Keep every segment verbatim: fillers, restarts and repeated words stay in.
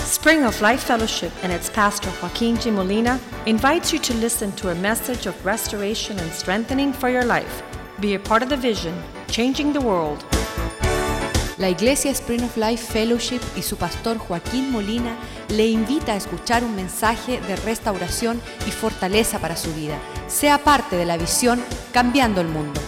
Spring of Life Fellowship and its pastor Joaquin G. Molina invites you to listen to a message of restoration and strengthening for your life. Be a part of the vision, changing the world. La Iglesia Spring of Life Fellowship y su pastor Joaquín Molina le invita a escuchar un mensaje de restauración y fortaleza para su vida. Sea parte de la visión Cambiando el Mundo.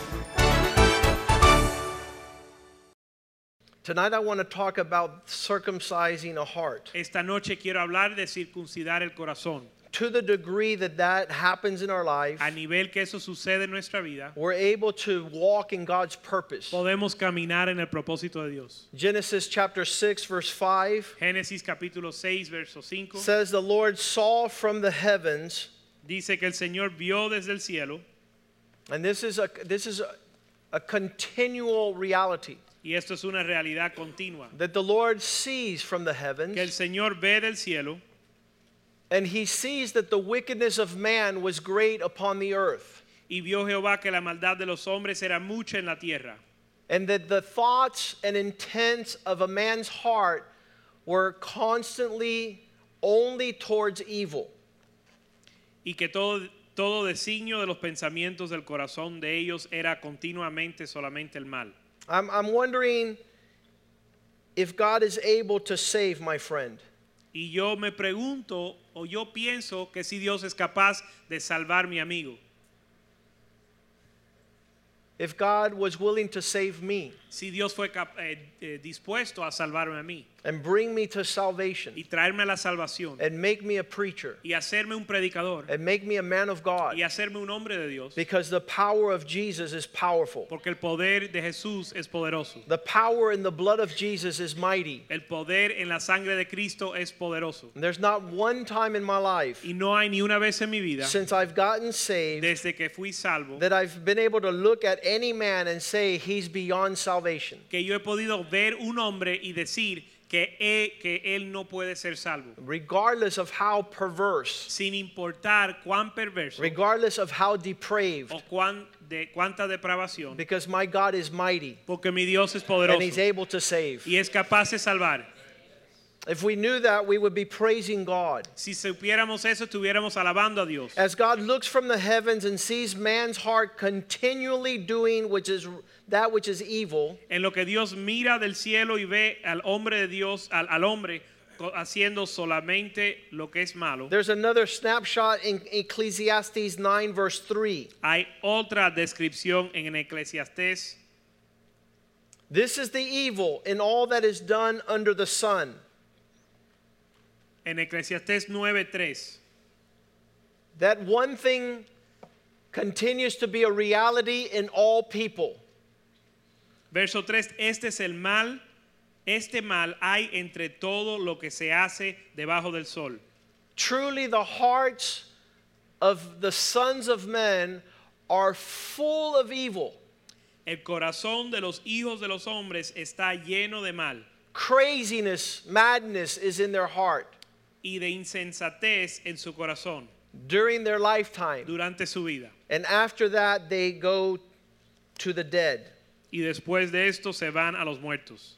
Tonight I want to talk about circumcising a heart. Esta noche quiero hablar de circuncidar el corazón. To the degree that that happens in our life, A nivel que eso sucede en nuestra vida, we're able to walk in God's purpose. podemos caminar en el propósito de Dios. Genesis chapter six verse five Génesis capítulo seis, verso cinco, says the Lord saw from the heavens, dice que el Señor vio desde el cielo, and this is a this is a, a continual reality, y esto es una realidad continua, that the Lord sees from the heavens, que el Señor ve del cielo, and he sees that the wickedness of man was great upon the earth, y vio Jehová que la maldad de los hombres era mucha en la tierra, and that the thoughts and intents of a man's heart were constantly only towards evil. y que todo, todo designio de los pensamientos del corazón de ellos era continuamente solamente el mal. I'm, I'm wondering if God is able to save my friend. Y yo me pregunto, o yo pienso que si Dios es capaz de salvar a mi amigo, If God was willing to save me si Dios fue cap- eh, eh, dispuesto a salvarme a mí and bring me to salvation y traerme a la salvación and make me a preacher y hacerme un predicador and make me a man of God, y hacerme un hombre de Dios, because the power of Jesus is powerful. porque el poder de Jesús es poderoso. The power in the blood of Jesus is mighty. El poder en la sangre de Cristo es poderoso. And there's not one time in my life Y no hay ni una vez en mi vida, since I've gotten saved desde que fui salvo, that I've been able to look at any man and say he's beyond salvation. que yo he podido ver un hombre y decir que él, que él no puede ser salvo, Regardless of how perverse, sin importar cuán perverso regardless of how depraved, o cuán, de cuánta depravación, because my God is mighty porque mi Dios es and poderoso he's able to save. y es capaz de salvar. If we knew that, we would be praising God. Si supiéramos eso, estuviéramos alabando a Dios. As God looks from the heavens and sees man's heart continually doing which is that which is evil, En lo que Dios mira del cielo y ve al hombre de Dios, al, al hombre co- haciendo solamente lo que es malo, there's another snapshot in Ecclesiastes nine verse three. hay otra descripción en Eclesiastés. This is the evil in all that is done under the sun, En Eclesiastés nueve tres, that one thing continues to be a reality in all people. verso tres, este es el mal, este mal hay entre todo lo que se hace debajo del sol. Truly the hearts of the sons of men are full of evil. El corazón de los hijos de los hombres está lleno de mal Craziness, madness is in their heart y de insensatez en su corazón during their lifetime. durante su vida. And after that, they go to the dead. Y después de esto se van a los muertos.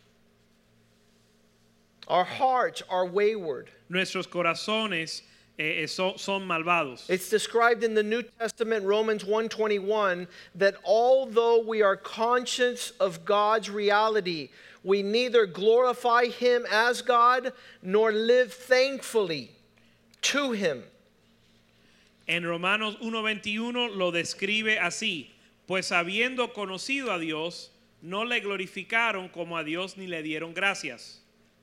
Our hearts are wayward. Nuestros corazones eh, eh, son, son malvados. It's described in the New Testament, Romans one twenty-one, that although we are conscious of God's reality, we neither glorify Him as God nor live thankfully to Him. En Romanos uno veintiuno lo describe así: pues habiendo conocido a Dios, no le glorificaron como a Dios ni le dieron gracias,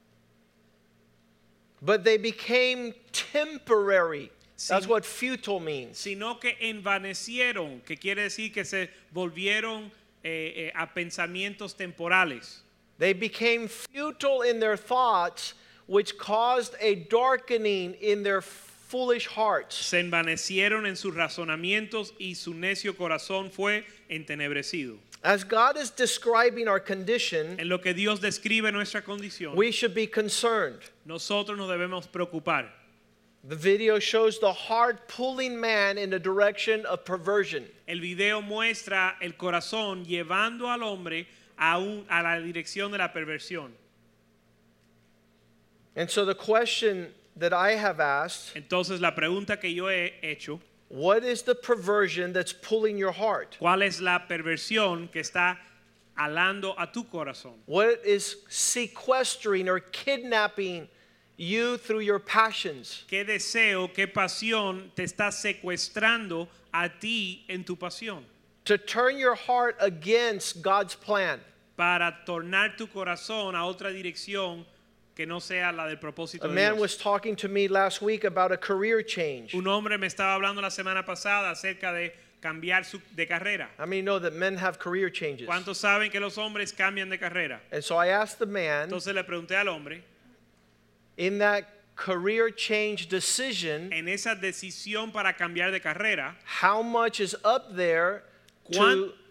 But they became temporary. That's Sin- what futile means. sino que envanecieron, que quiere decir que se volvieron eh, eh, a pensamientos temporales. They became futile in their thoughts, which caused a darkening in their foolish hearts. Se envanecieron en sus razonamientos y su necio corazón fue entenebrecido. As God is describing our condition, En lo que Dios describe nuestra condición, we should be concerned. nosotros nos debemos preocupar. The video shows the heart pulling man in the direction of perversion. El video muestra el corazón llevando al hombre a, un, a la dirección de la perversión. And so the question that I have asked, Entonces la pregunta que yo he hecho, what is the perversion that's pulling your heart? ¿cuál es la perversión que está alando a tu corazón? What is sequestering or kidnapping you through your passions? ¿Qué deseo, qué pasión te está secuestrando a ti en tu pasión? To turn your heart against God's plan. Para tornar tu corazón a otra dirección que no sea la del propósito A de man Dios. was talking to me last week about a career change. Un hombre me estaba hablando la semana pasada acerca de cambiar su, de carrera. How many know that men have career changes? ¿Cuántos saben que los hombres cambian de carrera? And so I asked the man, Entonces le pregunté al hombre, in that career change decision, en esa decisión para cambiar de carrera, how much is up there ¿cuán- to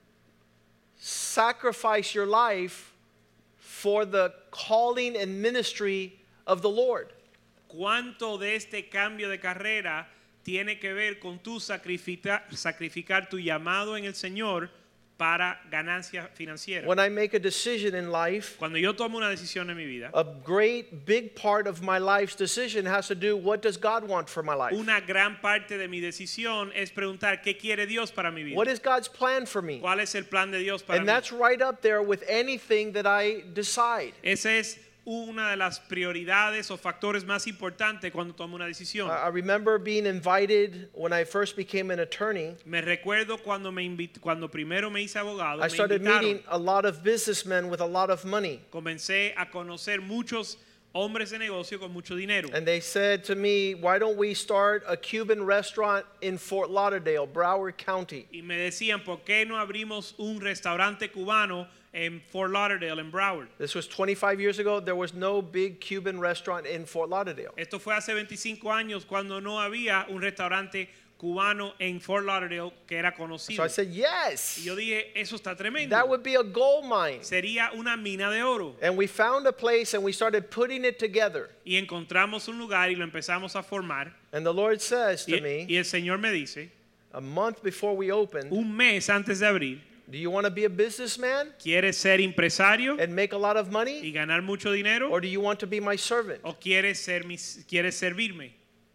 sacrifice your life for the calling and ministry of the Lord? ¿cuánto de este cambio de carrera tiene que ver con tu sacrificar, sacrificar tu llamado en el Señor para ganancia financiera? When I make a decision in life, Cuando yo tomo una decisión en mi vida, a great big part of my life's decision has to do what does God want for my life? una gran parte de mi decisión es preguntar qué quiere Dios para mi vida. What is God's plan for me? ¿Cuál es el plan de Dios para And mí? that's right up there with anything that I decide. Esa es una de las prioridades o factores más importantes cuando tomo una decisión. I I remember being invited when I first became an attorney. Me recuerdo cuando me invit- cuando primero me hice abogado, I me started invitaron. meeting a lot of businessmen with a lot of money. Comencé a conocer muchos hombres de negocio con mucho dinero. And they said to me, why don't we start a Cuban restaurant in Fort Lauderdale, Broward County? Y me decían, ¿por qué no abrimos un restaurante cubano en Fort Lauderdale, en Broward? This was twenty-five years ago. There was no big Cuban restaurant in Fort Lauderdale. Esto fue hace veinticinco años cuando no había un restaurante cubano en Fort Lauderdale que era So conocido. I said, Y yes, yo dije, eso está tremendo. that would be a gold mine. Sería una mina de oro. And we found a place and we started putting it together. Y encontramos un lugar y lo empezamos a formar. And the Lord says Y, to me, y el Señor me dice, a month before we opened, un mes antes de abrir, do you want to be a businessman ¿quieres ser empresario and make a lot of y money? ganar mucho dinero? Or do you want to be my servant? ¿O quieres, ser mis, quieres servirme?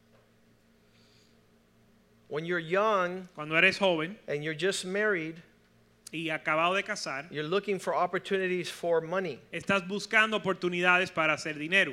When you're young Cuando eres joven and you're just married, y acabado de casar, you're looking for opportunities for money. estás buscando oportunidades para hacer dinero.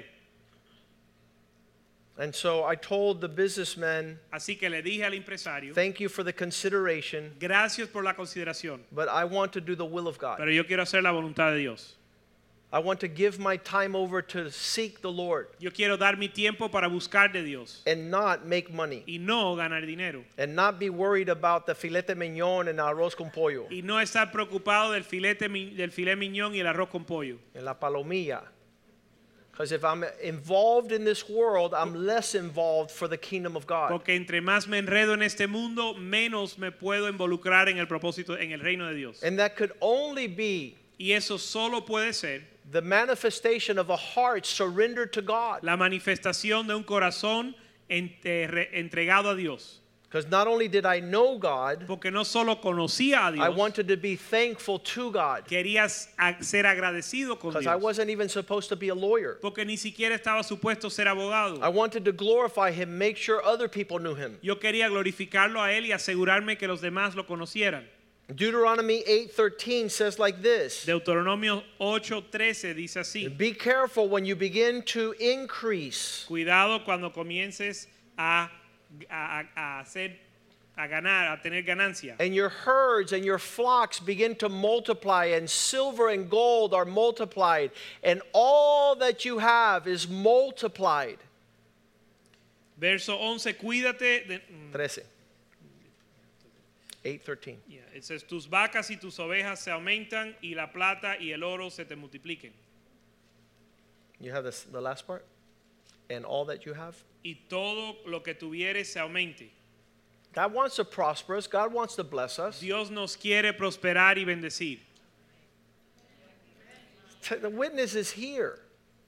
And so I told the businessman, Así que le dije al empresario, thank you for the consideration, gracias por la consideración, but I want to do the will of God. pero yo quiero hacer la voluntad de Dios. I want to give my time over to seek the Lord Yo quiero dar mi tiempo para buscar de Dios and not make money y no ganar dinero. and not be worried about the filete mignon and arroz con pollo Y no estar preocupado del filete mi- del filet miñón y el arroz con pollo. and la palomilla. Because if I'm involved in this world, I'm less involved for the kingdom of God. Porque entre más me enredo en este mundo, menos me puedo involucrar en el propósito, en el reino de Dios. And that could only be Y eso solo puede ser the manifestation of a heart surrendered to God. la manifestación de un corazón entre- entregado a Dios. Because not only did I know God, Porque no solo conocía a I Dios, wanted to be thankful to God. querías a- ser agradecido con Because I Dios. wasn't even supposed to be a lawyer. Porque ni siquiera estaba supuesto ser abogado. I wanted to glorify Him, make sure other people knew Him. Yo quería glorificarlo a Él y asegurarme que los demás lo conocieran. Deuteronomy eight thirteen says like this. Deuteronomio ocho trece dice así: Be careful when you begin to increase. Cuidado cuando comiences a, a, a hacer, a ganar, a tener ganancia. And your herds and your flocks begin to multiply, and silver and gold are multiplied, and all that you have is multiplied. Verso once, cuídate de... mm, thirteen. eight thirteen. yeah, it says, tus vacas y tus ovejas se aumentan y la plata y el oro se te multipliquen. You have this, the last part? And all that you have? Y todo lo que tuvieres se aumente. God wants to prosper us. God wants to bless us. Dios nos quiere prosperar y bendecir. The witness is here.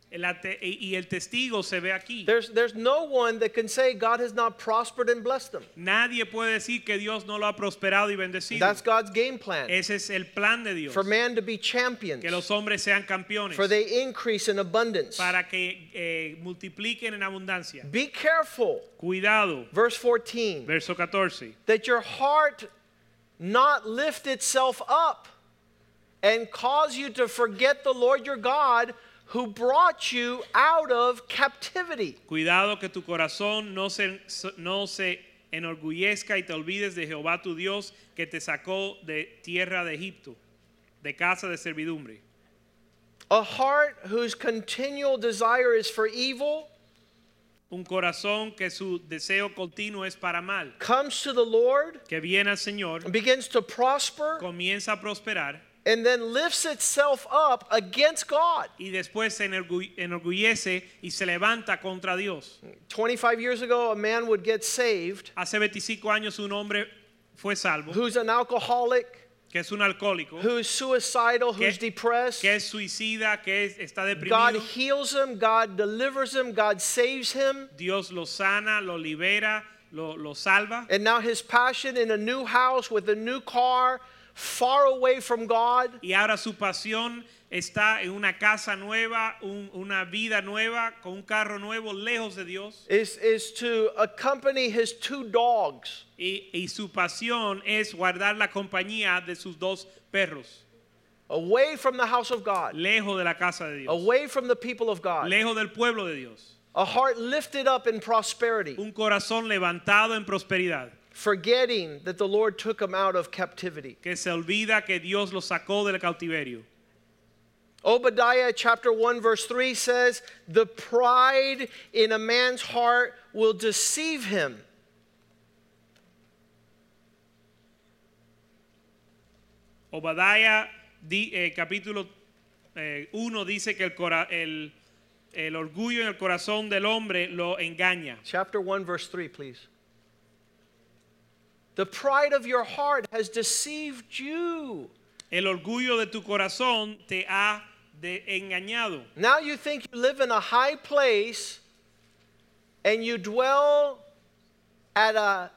La te- y el testigo se ve aquí. There's, there's no one that can say God has not prospered and blessed them. Nadie puede decir que Dios no lo ha prosperado y bendecido. That's God's game plan. Ese es el plan de Dios. For man to be champions. Que los hombres sean campeones. For they increase in abundance. Para que eh, multipliquen en abundancia. Be careful. Cuidado. Verse fourteen. Verso catorce. That your heart not lift itself up and cause you to forget the Lord your God who brought you out of captivity. Cuidado que tu corazón no se, no se enorgullezca y te olvides de Jehová tu Dios que te sacó de tierra de Egipto, de casa de servidumbre. A heart whose continual desire is for evil, un corazón que su deseo continuo es para mal, comes to the Lord, que viene al Señor, begins to prosper, comienza a prosperar, and then lifts itself up against God. Y después se enorgullece y se levanta contra Dios. twenty-five years ago, a man would get saved. Hace veinticinco años un hombre fue salvo. Who's an alcoholic? Que es un alcohólico. Who's suicidal? Que, who's depressed? Que es suicida, que es, está deprimido. God heals him. God delivers him. God saves him. Dios lo sana, lo libera, lo, lo salva. And now his passion in a new house with a new car, far away from God. Y ahora su pasión está en una casa nueva, un, una vida nueva, con un carro nuevo, lejos de Dios. Is, is to accompany his two dogs. Y, y su pasión es guardar la compañía de sus dos perros. Away from the house of God. Lejos de la casa de Dios. Away from the people of God. Lejos del pueblo de Dios. A heart lifted up in prosperity. Un corazón levantado en prosperidad. Forgetting that the Lord took him out of captivity. Que se olvida que Dios lo sacó del cautiverio. Obadiah chapter one verse three says, the pride in a man's heart will deceive him. Obadiah di, eh, capítulo uno eh, dice que el, cora, el, el orgullo en el corazón del hombre lo engaña. Chapter one verse three, please. The pride of your heart has deceived you. El orgullo de tu corazón te ha de engañado. Now you think you live in a high place and you dwell at a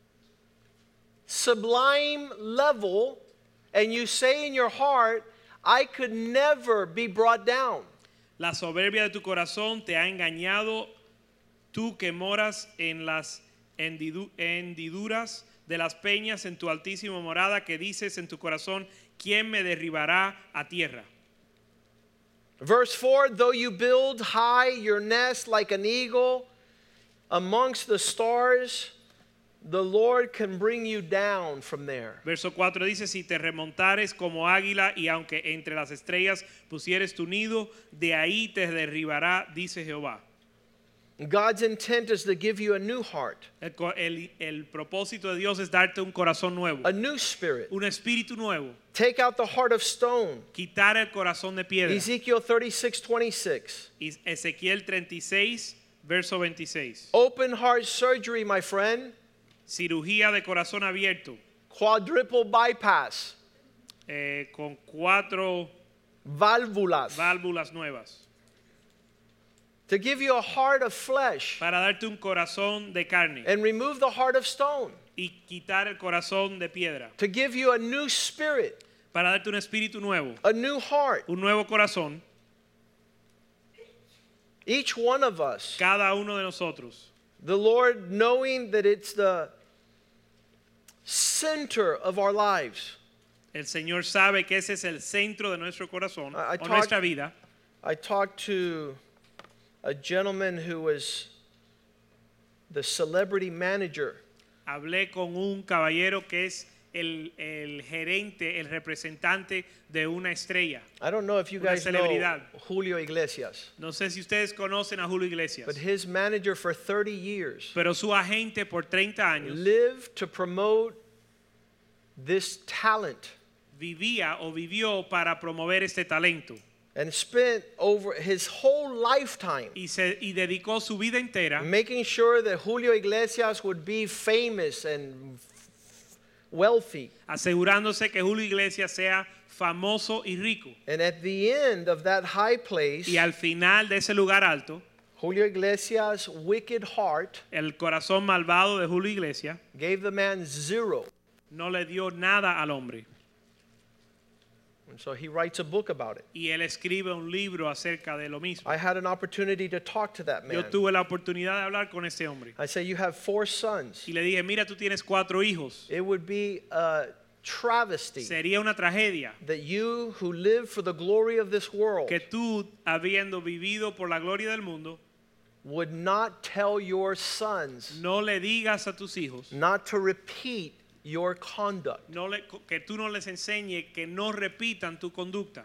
sublime level and you say in your heart, I could never be brought down. La soberbia de tu corazón te ha engañado, tú que moras en las hendiduras de las peñas en tu altísima morada, que dices en tu corazón, ¿quién me derribará a tierra? Verse four, though you build high your nest like an eagle amongst the stars, the Lord can bring you down from there. Verso cuatro dice, si te remontares como águila y aunque entre las estrellas pusieres tu nido, de ahí te derribará, dice Jehová. God's intent is to give you a new heart. El, el, el propósito de Dios es darte un corazón nuevo. A new spirit. Un espíritu nuevo. Take out the heart of stone. Quitar el corazón de piedra. Ezekiel thirty-six twenty-six. Ezequiel treinta y seis, verso veintiséis. Open heart surgery, my friend. Cirugía de corazón abierto. Quadruple bypass. Eh, con cuatro válvulas. Válvulas nuevas. To give you a heart of flesh. Para darte un corazón de carne. And remove the heart of stone. Y quitar el corazón de piedra. To give you a new spirit. Para darte un espíritu nuevo. A new heart. Un nuevo corazón. Each one of us. Cada uno de nosotros. The Lord, knowing that it's the center of our lives. El Señor sabe que ese es el centro de nuestro corazón I, I o talk, nuestra vida. I talked to a gentleman who was the celebrity manager. Hablé con un caballero que es el, el gerente, el representante de una estrella. I don't know if you guys know Julio Iglesias. No sé si ustedes conocen a Julio Iglesias. But his manager for thirty years. Pero su agente por treinta años. Lived to promote this talent. Vivía o vivió para promover este talento. And spent over his whole lifetime y, se, y dedicó su vida entera making sure that Julio Iglesias would be famous and wealthy. asegurándose que Julio Iglesias sea famoso y rico. And at the end of that high place, Y al final de ese lugar alto, Julio Iglesias' wicked heart el corazón malvado de Julio Iglesias gave the man zero. no le dio nada al hombre. And so he writes a book about it. Y él escribe un libro acerca de lo mismo. I had an opportunity to talk to that Yo man. tuve la oportunidad de hablar con este hombre. I say, you have four sons. Y le dije, mira, tú tienes cuatro hijos. It would be a travesty Sería una tragedia that you who live for the glory of this world que tú, habiendo vivido por la gloria del mundo, would not tell your sons no le digas a tus hijos, not to repeat your conduct. no le, que tú no les enseñes que no repitan tu conducta.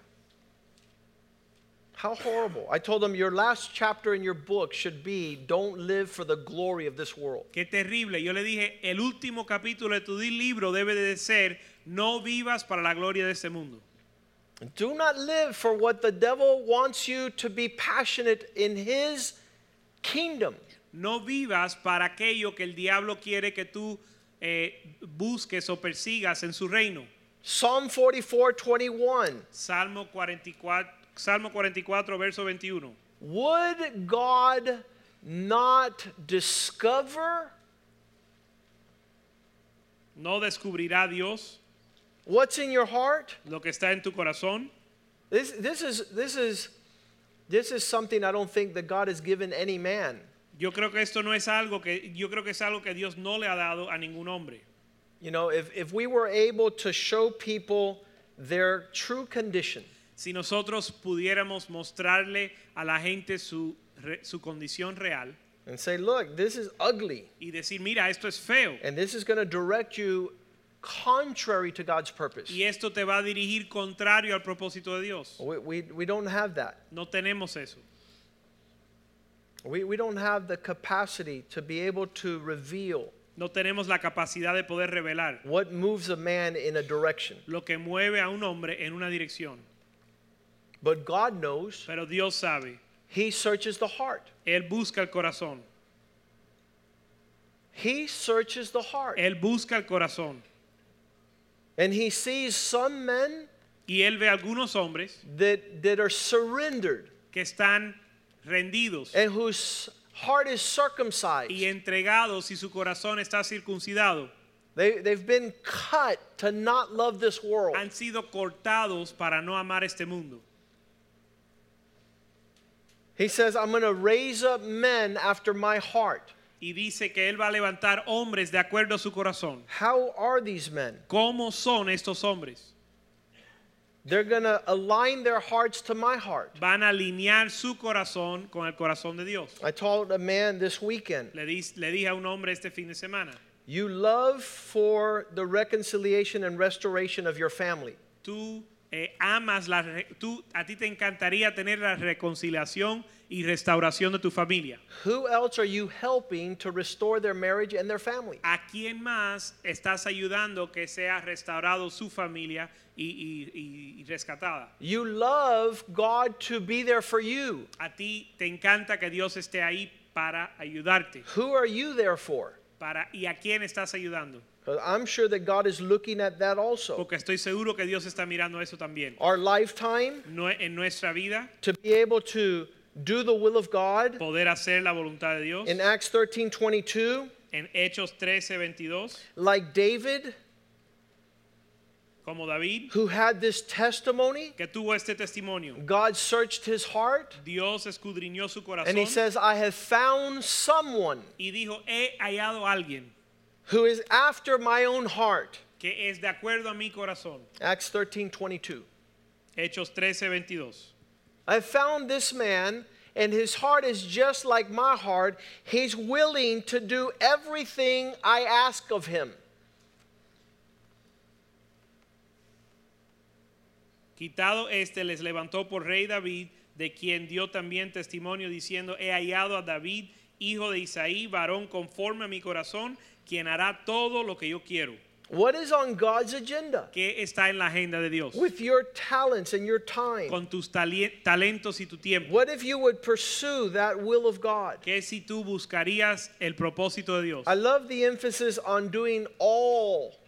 How horrible. I told them your last chapter in your book should be don't live for the glory of this world. Qué terrible. Yo le dije, el último capítulo de tu libro debe de ser, no vivas para la gloria de este mundo. Do not live for what the devil wants you to be passionate in his kingdom. No vivas para aquello que el diablo quiere que tú eh, busques o persigas en su reino. Psalm forty-four twenty-one. Salmo cuarenta y cuatro, Salmo cuarenta y cuatro, verso veintiuno. Would God not discover ¿No descubrirá Dios what's in your heart? lo que está en tu corazón? This, this, is, this, is, this is something I don't think that God has given any man. Yo creo que esto no es algo que yo creo que es algo que Dios no le ha dado a ningún hombre. You know, if, if we were able to show people their true condition, Si nosotros pudiéramos mostrarle a la gente su, re- su condición real and say, look, this is ugly, y decir, mira, esto es feo and this is going to direct you contrary to God's purpose. y esto te va a dirigir contrario al propósito de Dios. We, we, we don't have that. No tenemos eso. We, we don't have the capacity to be able to reveal No tenemos la capacidad de poder revelar what moves a man in a direction. lo que mueve a un hombre en una dirección. But God knows. Pero Dios sabe. He searches the heart. Él busca el corazón. He searches the heart. Él busca el corazón. And he sees some men Y él ve algunos hombres that, that are surrendered que están rendidos and whose heart is circumcised. y entregados y su corazón está circuncidado. They, they've been cut to not love this world. Han sido cortados para no amar este mundo. He says, I'm going to raise up men after my heart. Y dice que él va a levantar hombres de acuerdo a su corazón. How are these men? ¿Cómo son estos hombres? They're going to align their hearts to my heart. Van a alinear su corazón con el corazón de Dios. I told a man this weekend, Le, di, le dije a un hombre este fin de semana, you love for the reconciliation and restoration of your family. tú eh, amas, la, re- tú, a ti te encantaría tener la reconciliación y restauración de tu familia. Who else are you helping to restore their marriage and their family? ¿A quién más estás ayudando que sea restaurado su familia y, y, y, y rescatada? You love God to be there for you. A ti te encanta que Dios esté ahí para ayudarte. Who are you there for? Para, ¿Y a quién estás ayudando? 'Cause I'm sure that God is looking at that also. Porque estoy seguro que Dios está mirando eso también. Our lifetime No, en nuestra vida, to be able to do the will of God. poder hacer la voluntad de Dios. In Acts thirteen twenty-two, En Hechos trece veintidós, like David, como David, who had this testimony, que tuvo este testimonio. God searched his heart, Dios escudriñó su and he corazón says, I have found someone y dijo, he hallado a alguien who is after my own heart. que es de acuerdo a mi corazón. Acts thirteen twenty-two. Hechos trece veintidós. I found this man, and his heart is just like my heart. He's willing to do everything I ask of him. Quitado este, les levantó por rey David, de quien dio también testimonio diciendo, he hallado a David, hijo de Isaí, varón conforme a mi corazón, quien hará todo lo que yo quiero. What is on God's agenda? ¿Qué está en la agenda de Dios? With your talents and your time. Con tus tali- talentos y tu tiempo. What if you would pursue that will of God? ¿Qué si tú buscarías el propósito de Dios? I love the emphasis on doing all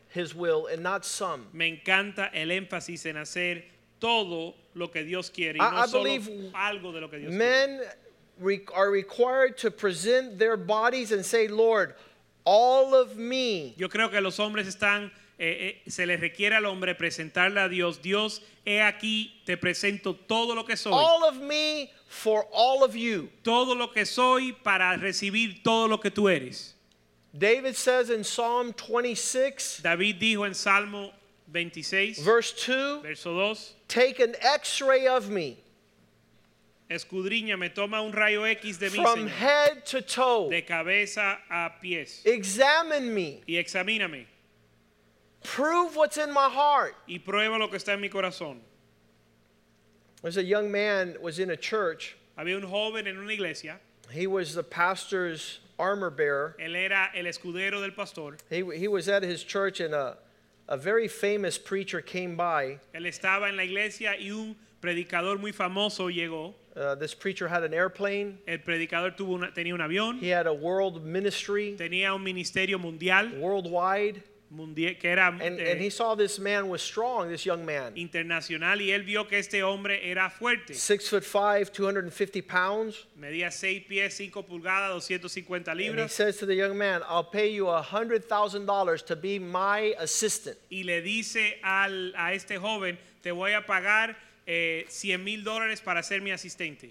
his will and not some. Me encanta el énfasis en hacer todo lo que Dios quiere y I- no I solo believe algo de lo que Dios quiere. Men re- are required to present their bodies and say, Lord, all of me. Yo creo que los hombres están, eh, eh, se les requiere al hombre presentarle a Dios. Dios, he aquí, te presento todo lo que soy. All of me for all of you. Todo lo que soy para recibir todo lo que tú eres. David says in Psalm twenty-six, David dijo en Salmo veintiséis, verse two, verso dos, take an x-ray of me escudriñame, toma un rayo X de mí, from Señor, head to toe. de cabeza a pies, Examine me. y examíname, Prove what's in my heart. y prueba lo que está en mi corazón. There's a young man was in a church. Había un joven en una iglesia, He was the pastor's armor bearer. él era el escudero del pastor, He, he was at his church and a, a very famous preacher came by. él estaba en la iglesia y un predicador muy famoso llegó. Uh, this preacher had an airplane. El predicador tuvo una, tenía un avión, He had a world ministry, tenía un ministerio mundial, worldwide. mundial que era And, eh, and he saw this man was strong, this young man. internacional, y él vio que este hombre era fuerte. Six foot five, two hundred fifty pounds. Medía seis pies, cinco pulgadas, doscientas cincuenta And he libras. says to the young man, I'll pay you one hundred thousand dollars to be my assistant. Y le dice al, a este joven, te voy a pagar eh, cien mil dólares para ser mi asistente.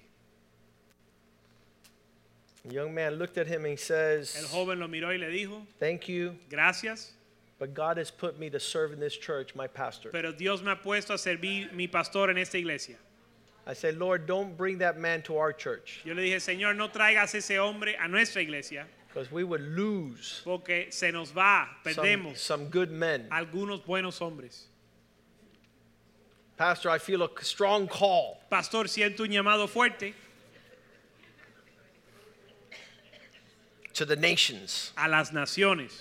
The young man looked at him and he El says, joven lo miró y le dijo, thank you, gracias, but God has put me to serve in this church, my pastor. pero Dios me ha puesto a servir mi pastor en esta iglesia. I said, Lord, don't bring that man to our church Yo le dije, Señor, no traigas ese hombre a nuestra iglesia, because we would lose porque se nos va, some, perdemos some good men. algunos buenos hombres. Pastor, I feel a strong call. Pastor, siento un llamado fuerte To the nations. a las naciones.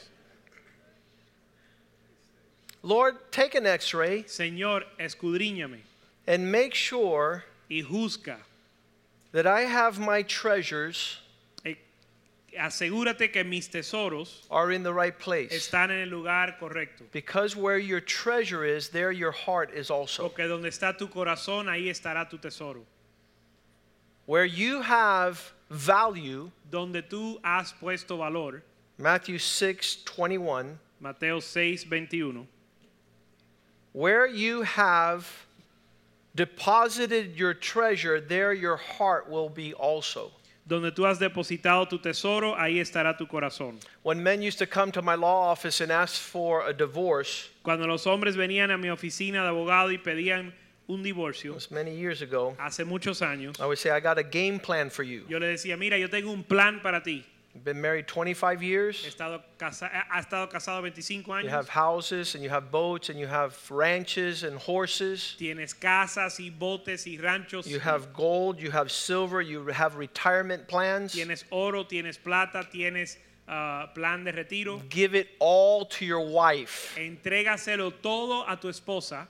Lord, take an x-ray Señor, escudriñame and make sure y juzga. that I have my treasures Eh, Asegúrate que mis tesoros are in the right place. están en el lugar correcto. Because where your treasure is, there your heart is also. Porque donde está tu corazón, ahí estará tu tesoro. Where you have value, Donde tú has puesto valor, Matthew six twenty-one, Mateo seis veintiuno, where you have deposited your treasure, there your heart will be also. donde tú has depositado tu tesoro, ahí estará tu corazón. When men used to come to my law office and ask for a divorce, Cuando los hombres venían a mi oficina de abogado y pedían un it divorcio, was many years ago, hace muchos años, I would say, I got a game plan for you. yo le decía, mira, yo tengo un plan para ti. You've been married twenty-five He years. estado casa- ha estado casado veinticinco You años. have houses and you have boats and you have ranches and horses. Tienes casas y botes y ranchos. You have gold, you have silver, you have retirement plans. Tienes oro, tienes plata, tienes ah, plan de retiro. Give it all to your wife. Entrégaselo todo a tu esposa,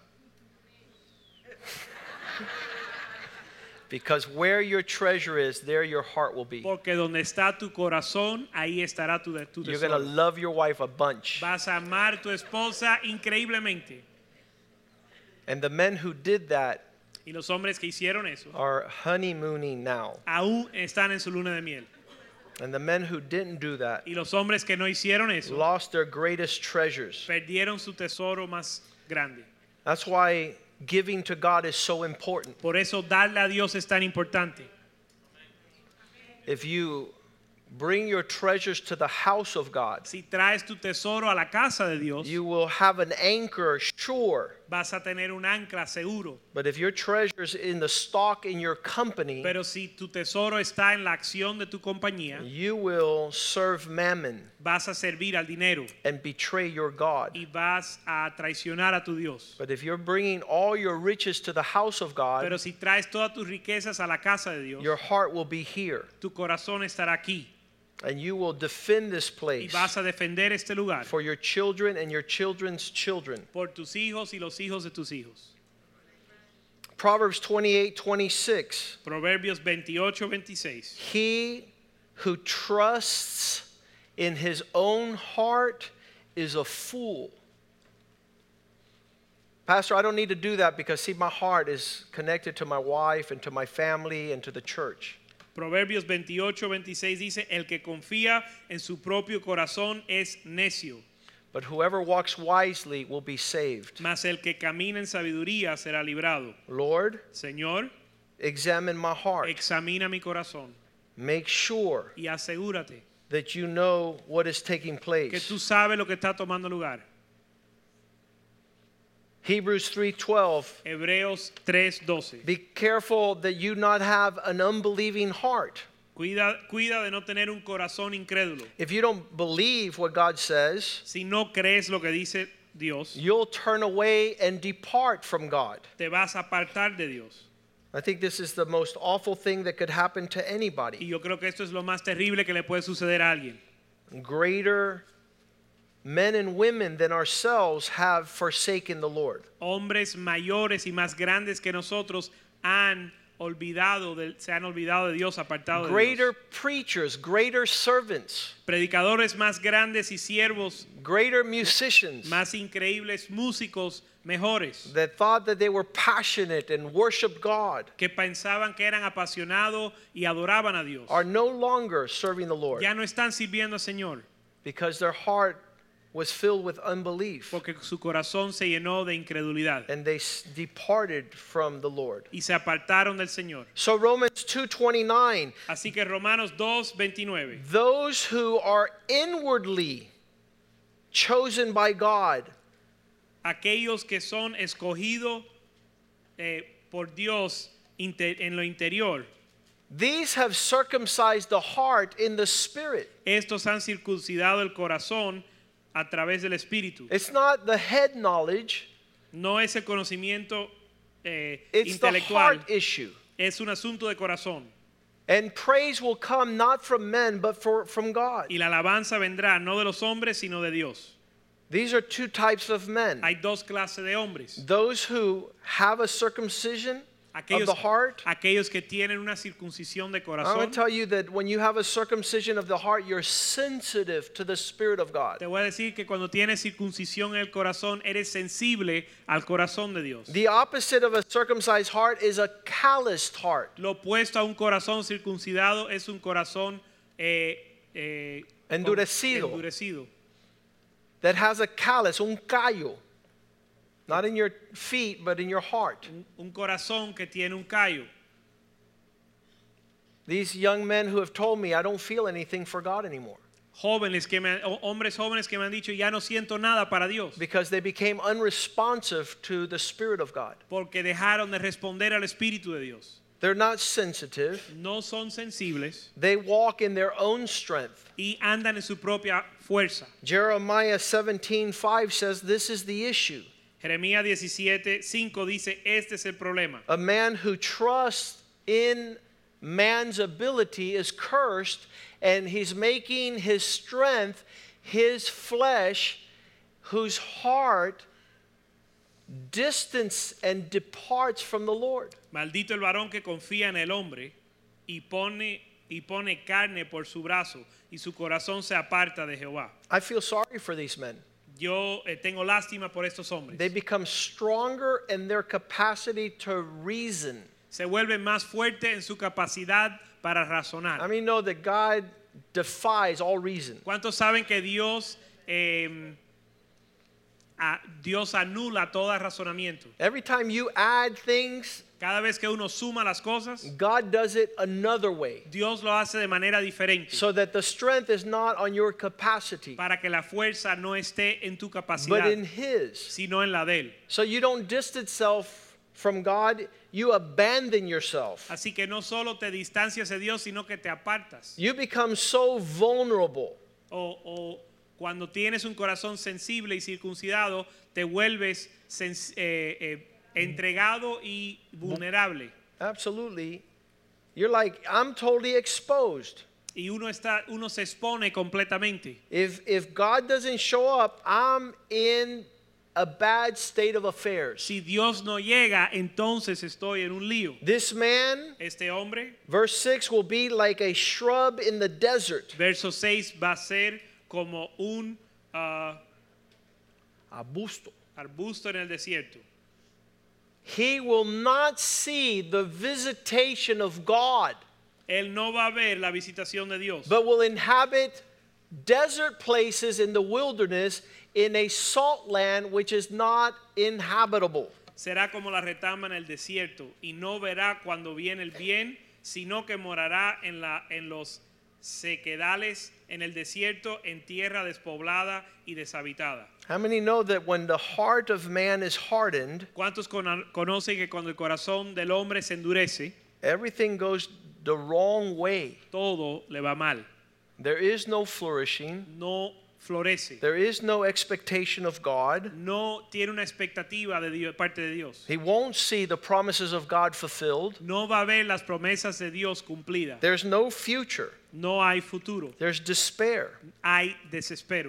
Because where your treasure is, there your heart will be. porque donde está tu corazón, ahí estará tu, de- tu You're going to tesoro. love your wife a bunch. Vas a amar a tu esposa increíblemente. And the men who did that Y los hombres que hicieron eso, are honeymooning now. aún están en su luna de miel. And the men who didn't do that Y los hombres que no hicieron eso, lost their greatest treasures. perdieron su tesoro más grande. That's why giving to God is so important. Por eso darle a Dios es tan importante. If you bring your treasures to the house of God, Si traes tu tesoro a la casa de Dios, you will have an anchor sure. vas a tener un ancla seguro. But if your treasures in the stock in your company, Pero si tu tesoro está en la acción de tu compañía, you will serve mammon vas a servir al dinero and betray your God. y vas a traicionar a tu Dios. But if you're bringing all your riches to the house of Pero God, si traes todas tus riquezas a la casa de Dios, your heart will be here. tu corazón estará aquí And you will defend this y place vas a defender este lugar for your children and your children's children. por tus hijos y los hijos de tus hijos. Proverbs twenty-eight twenty-six. Proverbios veintiocho veintiséis. He who trusts in his own heart is a fool, Pastor, I don't need to do that because, see, my heart is connected to my wife and to my family and to the church. Proverbios veintiocho veintiséis dice, el que confía en su propio corazón es necio, But whoever walks wisely will be saved. mas el que camina en sabiduría será librado. Lord, Señor, examine my heart. examina mi corazón Make sure y asegúrate that you know what is taking que place. tú sabes lo que está tomando lugar. Hebrews three twelve. Hebreos tres doce. Be careful that you not have an unbelieving heart. Cuida, cuida de no tener un corazón incrédulo. If you don't believe what God says, Si no crees lo que dice Dios, you'll turn away and depart from God. te vas a apartar de Dios. I think this is the most awful thing that could happen to Y anybody. yo creo que esto es lo más terrible que le puede suceder a alguien. Greater men and women than ourselves have forsaken the Lord. Hombres mayores y más grandes que nosotros han olvidado de, se han olvidado de Dios, apartado de Greater Dios. preachers, greater servants, Predicadores más grandes y siervos greater musicians más increíbles, músicos mejores, that thought that they were passionate and worshiped God que pensaban que eran apasionados y adoraban a Dios, are no longer serving the Lord ya no están sirviendo al Señor because their heart was filled with unbelief porque su corazón se llenó de incredulidad and they s- departed from the Lord. y se apartaron del Señor. So Romans two twenty-nine, Así que Romanos dos veintinueve. those who are inwardly chosen by God Aquellos que son escogidos eh, por Dios inter- en lo interior, these have circumcised the heart in the spirit. estos han circuncidado el corazón a través del Espíritu. It's not the head knowledge, No es el conocimiento eh, it's the intelectual, heart issue. es un asunto de corazón. And praise will come not from men but for, from God. Y la alabanza vendrá no de los hombres, sino de Dios. These are two types of men. Hay dos clases de hombres. Those who have a circumcision of Aquellos, the heart. aquellos que tienen una circuncisión de I'm going corazón. to tell you that when you have a circumcision of the heart, you're sensitive to the Spirit of God. Te voy a decir que cuando tienes circuncisión en el corazón, eres sensible al corazón de Dios. The opposite of a circumcised heart is a calloused heart. Lo opuesto a un corazón circuncidado es un corazón eh, eh, Endurecido. endurecido. That has a callus, un callo. Not in your feet, but in your heart. Un, un corazón que tiene un callo. These young men who have told me, I don't feel anything for God anymore. Jóvenes que me, han- o- hombres jóvenes que me han dicho, ya no siento nada para Dios. Because they became unresponsive to the Spirit of God. Porque dejaron de responder al Espíritu de Dios. They're not sensitive. No son sensibles They walk in their own strength. y andan en su propia fuerza. Jeremiah seventeen five says this is the issue. Jeremías diecisiete cinco dice, este es el problema. A man who trusts in man's ability is cursed, and he's making his strength his flesh, whose heart distance and departs from the Lord. Maldito el varón que confía en el hombre y pone, y pone carne por su brazo y su corazón se aparta de Jehová. I feel sorry for these men. Yo eh, tengo lástima por estos hombres. They become stronger in their capacity to reason. Se vuelven más fuertes en su capacidad para razonar. I mean, know that God defies all reason. ¿Cuántos saben que Dios, eh, a- Dios anula todo razonamiento? Every time you add things, Cada vez que uno suma las cosas, God does it another way. Dios lo hace de manera diferente. So that the strength is not on your capacity, Para que la fuerza no esté en tu but capacidad, in His. sino en la de Él. So you don't distance yourself from God, you abandon yourself. Así que no solo te distancias de Dios, sino que te apartas. You become so vulnerable. O, o cuando tienes un corazón sensible y circuncidado, te vuelves sens- eh, eh, entregado y vulnerable. Absolutely. You're like, I'm totally exposed. Y uno, está, uno se expone completamente. If, if God doesn't show up, I'm in a bad state of affairs. Si Dios no llega, entonces estoy en un lío. This man, Este hombre, verse six, will be like a shrub in the desert. verso seis, va a ser como un ah, Arbusto. arbusto en el desierto. he will not see the visitation of God, él no va a ver la visitación de Dios, but will inhabit desert places in the wilderness in a salt land which is not inhabitable. será como la retama en el desierto y no verá cuando viene el bien, sino que morará en, la, en los sequedales, en el desierto, en tierra despoblada y deshabitada. How many know that when the heart of man is hardened, ¿Cuántos cono- conocen que cuando el corazón del hombre se endurece, everything goes the wrong way? todo le va mal? There is no flourishing. No florece. There is no expectation of God. No tiene una expectativa de Dios, parte de Dios. He won't see the promises of God fulfilled. No va a ver las promesas de Dios cumplidas. There's no future. No hay futuro. There's despair. Hay desespero.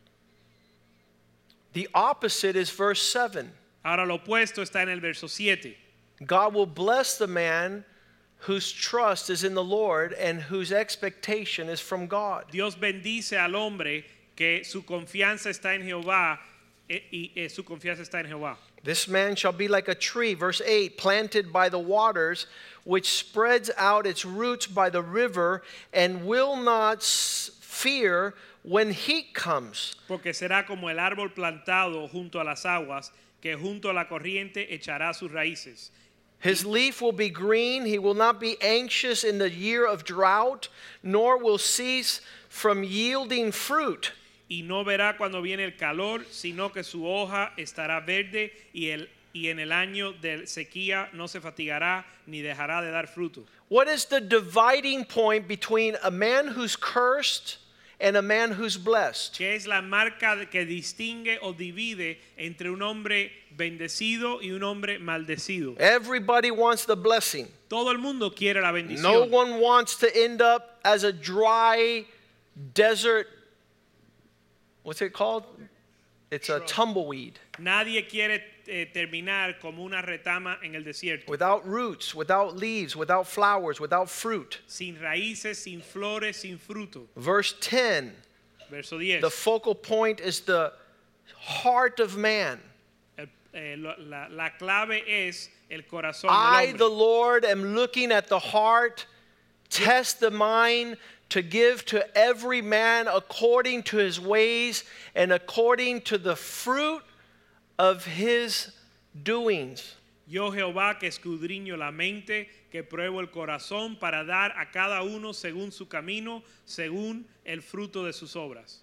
The opposite is verse seven. Ahora lo opuesto está en el verso siete. God will bless the man whose trust is in the Lord and whose expectation is from God. Dios bendice al hombre que su confianza está en Jehová eh, y eh, su confianza está en Jehová. This man shall be like a tree, verse eight, planted by the waters, which spreads out its roots by the river and will not fear when heat comes. Porque será como el árbol plantado junto a las aguas, que junto a la corriente echará sus raíces. His leaf will be green. He will not be anxious in the year of drought, nor will cease from yielding fruit. Y no verá cuando viene el calor, sino que su hoja estará verde y, el, y en el año de sequía no se fatigará ni dejará de dar fruto. What is the dividing point between a man who's cursed and a man who's blessed? Que es la marca que distingue o divide entre un hombre bendecido y un hombre maldecido. Everybody wants the blessing. Todo el mundo quiere la bendición. No one wants to end up as a dry desert. What's it called? It's a tumbleweed. Nadie quiere eh, terminar como una retama en el desierto. Without roots, without leaves, without flowers, without fruit. Sin raíces, sin flores, sin fruto. Verse ten. Verso diez. The focal point is the heart of man. El, eh, lo- la, la clave es el corazón I, del the hombre. Lord, am looking at the heart, test the mind, to give to every man according to his ways and according to the fruit of his doings. Yo Jehová que escudriño la mente, que pruebo el corazón para dar a cada uno según su camino, según el fruto de sus obras.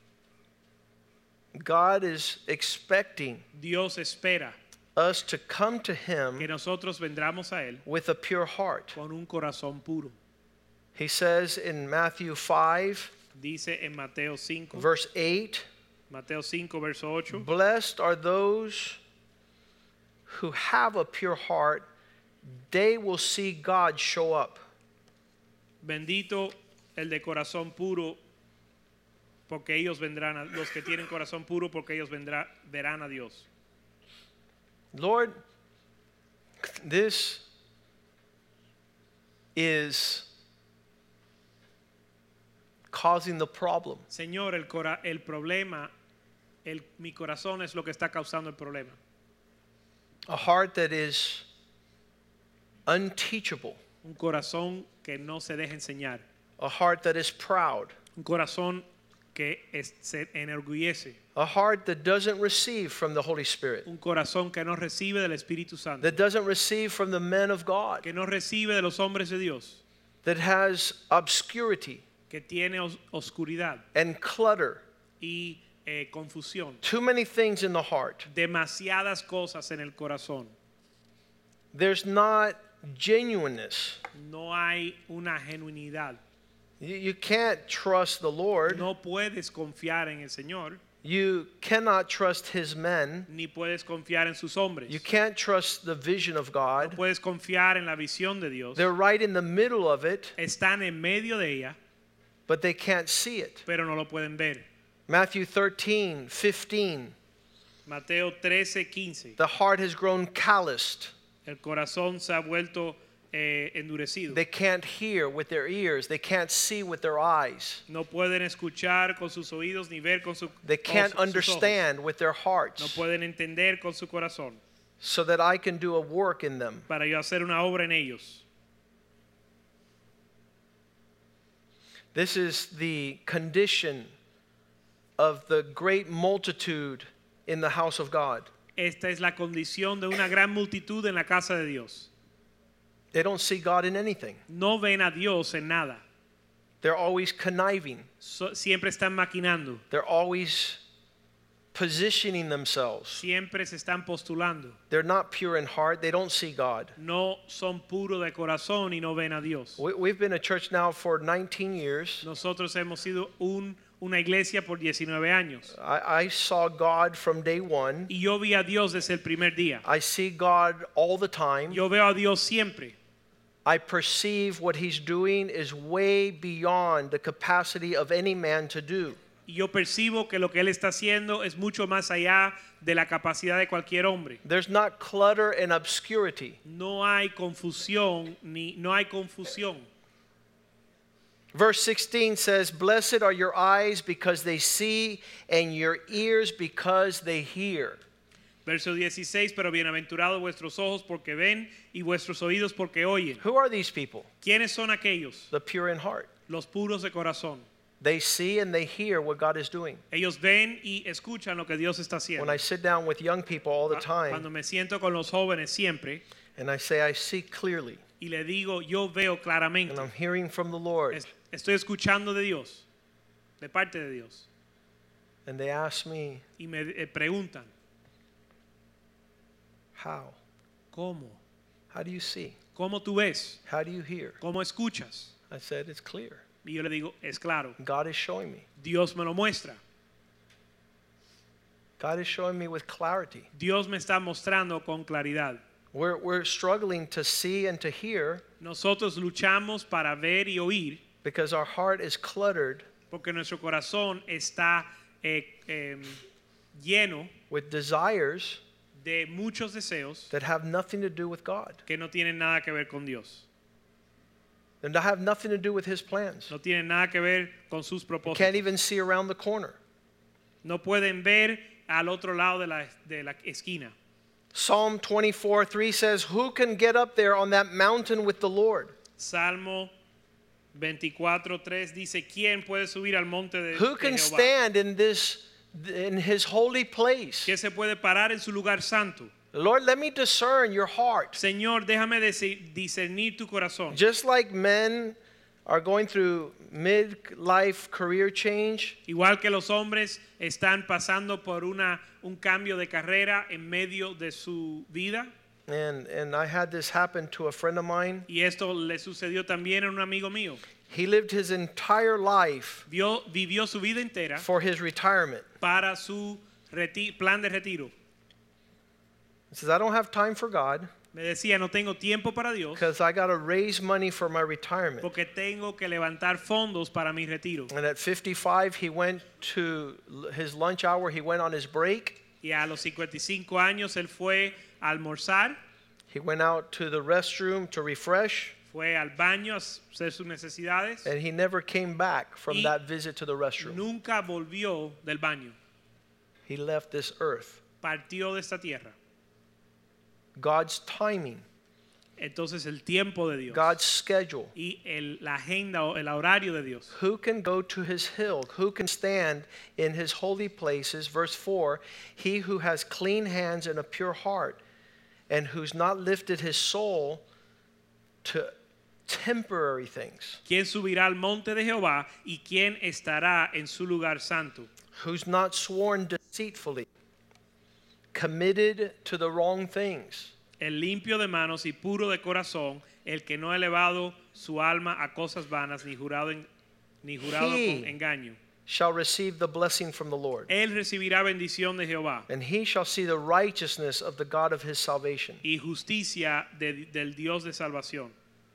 God is expecting Dios espera us to come to que him nosotros vendremos a él with a pure heart. con un corazón puro. He says in Matthew five, Dice en Mateo cinco, verse eight, Mateo cinco verso ocho, blessed are those who have a pure heart, they will see God show up. bendito el de corazón puro, porque ellos vendrán a, los que tienen corazón puro, porque ellos vendrá, verán a Dios. Lord, this is causing the problem. Señor, el, cora, el problema, el, mi corazón es lo que está causando el problema. A heart that is unteachable, Un corazón que no se deja enseñar. a heart that is proud, Un corazón que es- se enorgullece. a heart that doesn't receive from the Holy Spirit, Un corazón que no recibe del Espíritu Santo. that doesn't receive from the men of God, Que no recibe de los hombres de Dios. that has obscurity Que tiene os- oscuridad and clutter. y eh, confusión. Too many things in the heart. Demasiadas cosas en el corazón. There's not genuineness. No hay una genuinidad. You, you can't trust the Lord. No puedes confiar en el Señor, You cannot trust his men. ni puedes confiar en sus hombres. You can't trust the vision of No God. puedes confiar en la visión de Dios. They're right in the middle of it, Están en medio de ella, but they can't see it. pero no lo pueden ver. Matthew thirteen, fifteen. Mateo trece, quince. The heart has grown calloused. El corazón se ha vuelto eh, endurecido. They can't hear with their ears. They can't see with their eyes. No pueden escuchar con sus oídos ni ver con su, They con can't sus ojos. understand with their No hearts. pueden entender con su corazón. so that I can do a work in them. para yo hacer una obra en ellos. This is the condition of the great multitude in the house of God. Esta es la condición de una gran multitud en la casa de Dios. They don't see God in anything. No ven a Dios en nada. They're always conniving. So, siempre están maquinando. They're always positioning themselves. Siempre se están postulando. They're not pure in heart. They don't see God. No son puros de corazón y no ven a Dios. We, we've been a church now for nineteen years. Nosotros hemos sido un, una iglesia por diecinueve años. I, I saw God from day one. Y yo vi a Dios desde el primer día. I see God all the time. Yo veo a Dios siempre. I perceive what He's doing is way beyond the capacity of any man to do. Y yo percibo que lo que Él está haciendo es mucho más allá de la capacidad de cualquier hombre. There's not clutter and obscurity. No hay confusión, ni no hay confusión. Verse sixteen says, "Blessed are your eyes because they see, and your ears because they hear." Verso dieciséis, pero bienaventurados vuestros ojos porque ven y vuestros oídos porque oyen. Who are these people? ¿Quiénes son aquellos? The pure in heart. Los puros de corazón. They see and they hear what God is doing. Ellos ven y escuchan lo que Dios está haciendo. When I sit down with young people all the Cuando time me siento con los jóvenes siempre and I say, I see clearly y le digo, yo veo claramente, and I'm hearing from the Lord, es- estoy escuchando de Dios, de parte de Dios, and they ask me, y me eh, preguntan, how? ¿cómo? How do you see? ¿Cómo tú ves? How do you hear? ¿Cómo escuchas? I said, it's clear. Y yo le digo, es claro, God is showing me. Dios me lo muestra. God is showing me with clarity. Dios me está mostrando con claridad. We're, we're struggling to see and to hear Nosotros luchamos para ver y oír because our heart is cluttered porque nuestro corazón está eh, eh, lleno with desires de muchos deseos that have nothing to do with God. que no tienen nada que ver con Dios. And that have nothing to do with His plans. No tienen nada que ver con sus Can't propósitos. even see around the corner. No pueden ver al otro lado de la, de la esquina. Psalm twenty-four three says, who can get up there on that mountain with the Lord? Salmo veinticuatro tres dice, ¿quién puede subir al monte de, Who de can Jehová? stand in this, in His holy place? ¿Quién se puede parar en su lugar santo? Lord, let me discern your heart. Señor, déjame disi- discernir tu corazón. Just like men are going through mid-life career change, Igual que los hombres están pasando por una, un cambio de carrera en medio de su vida. and, and I had this happen to a friend of mine. Y esto le sucedió también a un amigo mío. He lived his entire life Vio, vivió su vida entera for his retirement. para su reti- plan de retiro. He says, I don't have time for God Me decía, no tengo tiempo para Dios because I got to raise money for my retirement. porque tengo que levantar fondos para mi retiro. And at fifty-five, he went to l- his lunch hour. He went on his break. Y a los cincuenta y cinco años él fue a almorzar, He went out to the restroom to refresh. fue al baño a hacer sus necesidades And he never came back from Y that visit to the restroom. nunca volvió del baño. He left this earth. Partió de esta tierra. God's timing, Entonces el tiempo de Dios God's schedule. y el, la agenda o el horario de Dios. Who can go to his hill? Who can stand in his holy places? Verse four, he who has clean hands and a pure heart, and who's not lifted his soul to temporary things, ¿Quién subirá al monte de Jehová y quién estará en su lugar santo? who's not sworn deceitfully, committed to the wrong things, El limpio de manos y puro de corazón, el que no ha elevado su alma a cosas vanas ni jurado, en- ni jurado He- con engaño. shall receive the blessing from the Lord. Él recibirá bendición de Jehová And he shall see the righteousness of the God of his salvation. y justicia de- del Dios de salvación.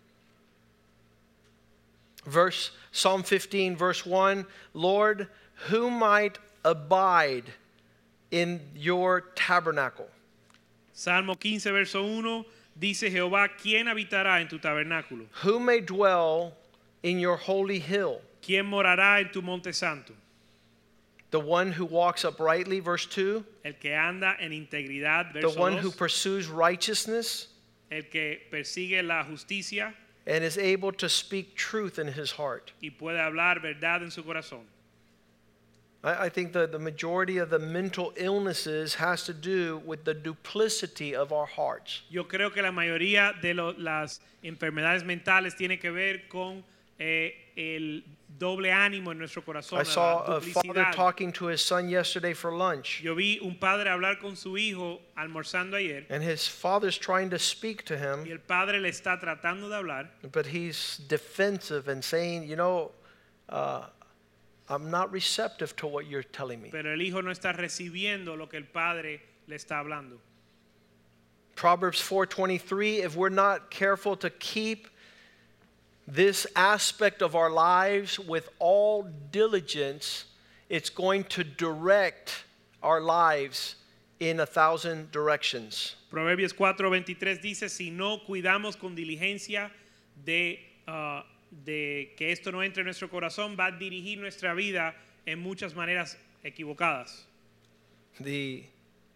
Verse Psalm fifteen, verse one, Lord, who might abide in your tabernacle? Salmo quince, verso uno, dice Jehová, ¿quién habitará en tu tabernáculo? Who may dwell in your holy hill? ¿Quién morará en tu monte santo? The one who walks uprightly, verse two. El que anda en integridad, The verso one who dos. pursues righteousness El que persigue la justicia and is able to speak truth in his heart. y puede hablar verdad en su corazón. I, I think that the majority of the mental illnesses has to do with the duplicity of our hearts. Yo creo que la mayoría de lo- las enfermedades mentales tiene que ver con eh, el doble ánimo en nuestro corazón, I saw la a father duplicidad. talking to his son yesterday for lunch, Yo vi un padre hablar con su hijo almorzando ayer and his father's trying to speak to y him, el padre le está tratando de hablar, but he's defensive and saying, you know, uh, I'm not receptive to what you're telling me. pero el hijo no está recibiendo lo que el padre le está hablando. Proverbs four twenty-three, if we're not careful to keep this aspect of our lives with all diligence, it's going to direct our lives in a thousand directions. Proverbios cuatro veintitrés dice, si no cuidamos con diligencia de, ah, de que esto no entre en nuestro corazón, va a dirigir nuestra vida en muchas maneras equivocadas. The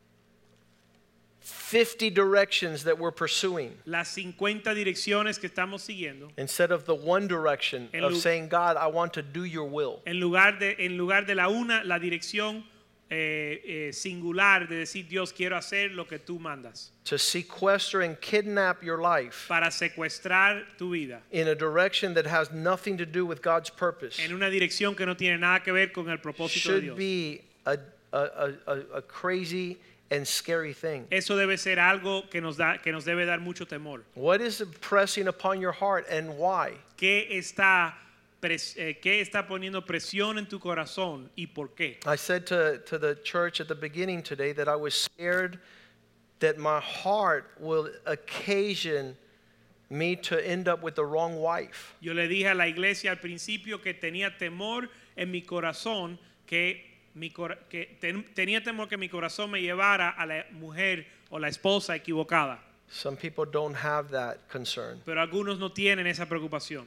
fifty directions that we're pursuing, Las cincuenta direcciones que estamos siguiendo, instead of the one direction En of lu- saying, God, I want to do your will. en lugar de, en lugar de la una, la dirección eh, eh, singular de decir, Dios, quiero hacer lo que tú mandas, To sequester and kidnap your life para secuestrar tu vida in a direction that has nothing to do with God's purpose en una dirección que no tiene nada que ver con el propósito de should Dios. be a, a, a, a, a crazy and scary thing. Eso debe ser algo que nos da, que nos debe dar mucho temor. What is pressing upon your heart and why? ¿Qué está, pres- eh, qué está poniendo presión en tu corazón y por qué? I said to, to the church at the beginning today that I was scared that my heart will occasion me to end up with the wrong wife. Yo le dije a la iglesia al principio que tenía temor en mi corazón, que, mi cora- que ten- tenía temor que mi corazón me llevara a la mujer o la esposa equivocada. Some people don't have that concern. Pero algunos no tienen esa preocupación.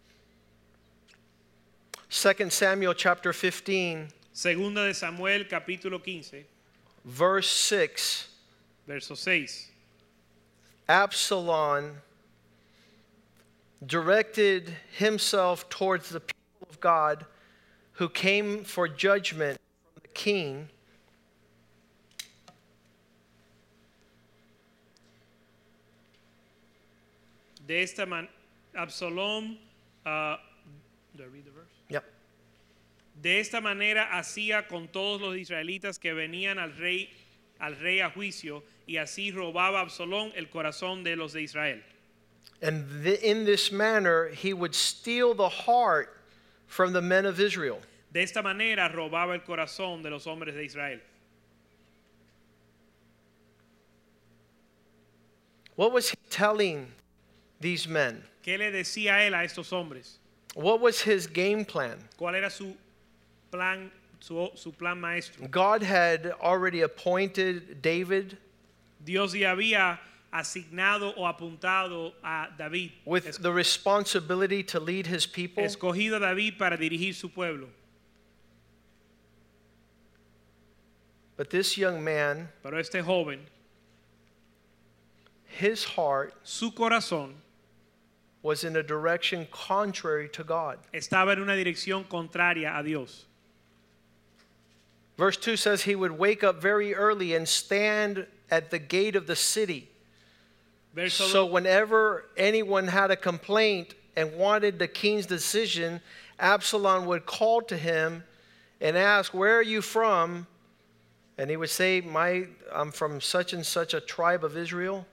Second Samuel chapter fifteen, Segunda de Samuel capítulo quince, verse six. verso seis. Absalom directed himself towards the people of God who came for judgment from the king. De esta manera, Absalom, uh, do I read the verse? Yep. De esta manera hacía con todos los israelitas que venían al rey, al rey a juicio, y así robaba Absalom el corazón de los de Israel. And th- in this manner, he would steal the heart from the men of Israel. De esta manera robaba el corazón de los hombres de Israel. What was he telling these men? ¿Qué le decía él a estos hombres? What was his game plan? ¿Cuál era su plan, su, su plan maestro? God had already appointed David Dios ya había asignado o apuntado a David, with es- the responsibility to lead his people. escogido a David para dirigir su pueblo. But this young man, Pero este joven, his heart su corazón was in a direction contrary to God. estaba en una dirección contraria a Dios. Verse two says he would wake up very early and stand at the gate of the city. Verso So dos, whenever anyone had a complaint and wanted the king's decision, Absalom would call to him and ask, "Where are you from?" And he would say, "My, I'm from such and such a tribe of Israel."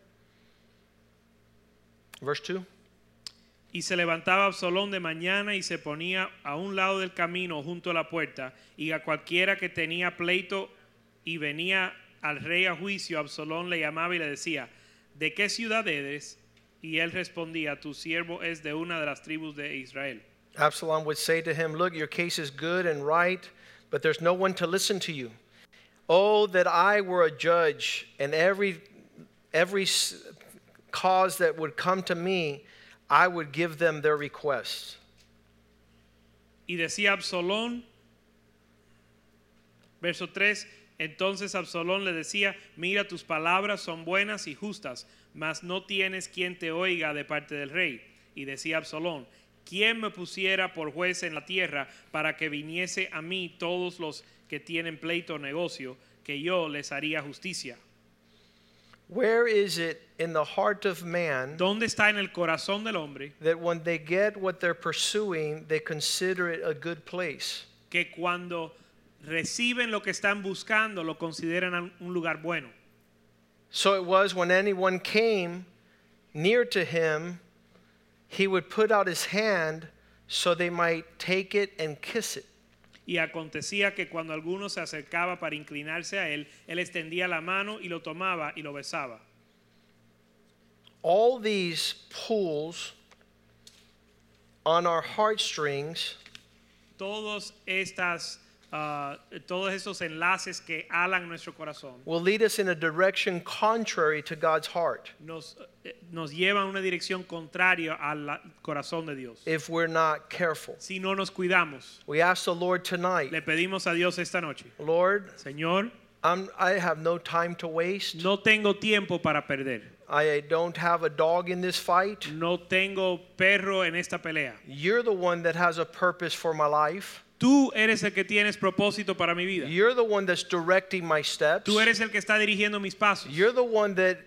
Verse two. y se levantaba Absalón de mañana y se ponía a un lado del camino junto a la puerta, y a cualquiera que tenía pleito y venía al rey a juicio, Absalón le llamaba y le decía, ¿de qué ciudad eres? Y él respondía, tu siervo es de una de las tribus de Israel. Absalom would say to him, "Look, your case is good and right, but there's no one to listen to you. Oh, that I were a judge, and every every s- cause that would come to me, I would give them their requests." Y decía Absalón, Verso tres, entonces Absalón le decía, mira, tus palabras son buenas y justas, mas no tienes quien te oiga de parte del rey. Y decía Absalón, ¿quién me pusiera por juez en la tierra para que viniese a mí todos los que tienen pleito o negocio, que yo les haría justicia? Where is it in the heart of man ¿Dónde está en el corazón del hombre that when they get what they're pursuing, they consider it a good place? que cuando reciben lo que están buscando lo consideran un lugar bueno? So it was when anyone came near to him, he would put out his hand so they might take it and kiss it. Y acontecía que cuando alguno se acercaba para inclinarse a él, él extendía la mano y lo tomaba y lo besaba. All these pulls on our heartstrings Todos estas, uh, todos esos enlaces que alan nuestro corazón will lead us in a direction contrary to God's heart nos, eh, nos llevan a una dirección contraria al la- corazón de Dios. if we're not careful. Si no nos cuidamos, We ask the Lord tonight, le pedimos a Dios esta noche, Lord, Señor, I'm, I have no time to waste. no tengo tiempo para perder. I don't have a dog in this fight. No tengo perro en esta pelea. You're the one that has a purpose for my life. Tú eres el que tienes propósito para mi vida. You're the one that's directing my steps. Tú eres el que está dirigiendo mis pasos. You're the one that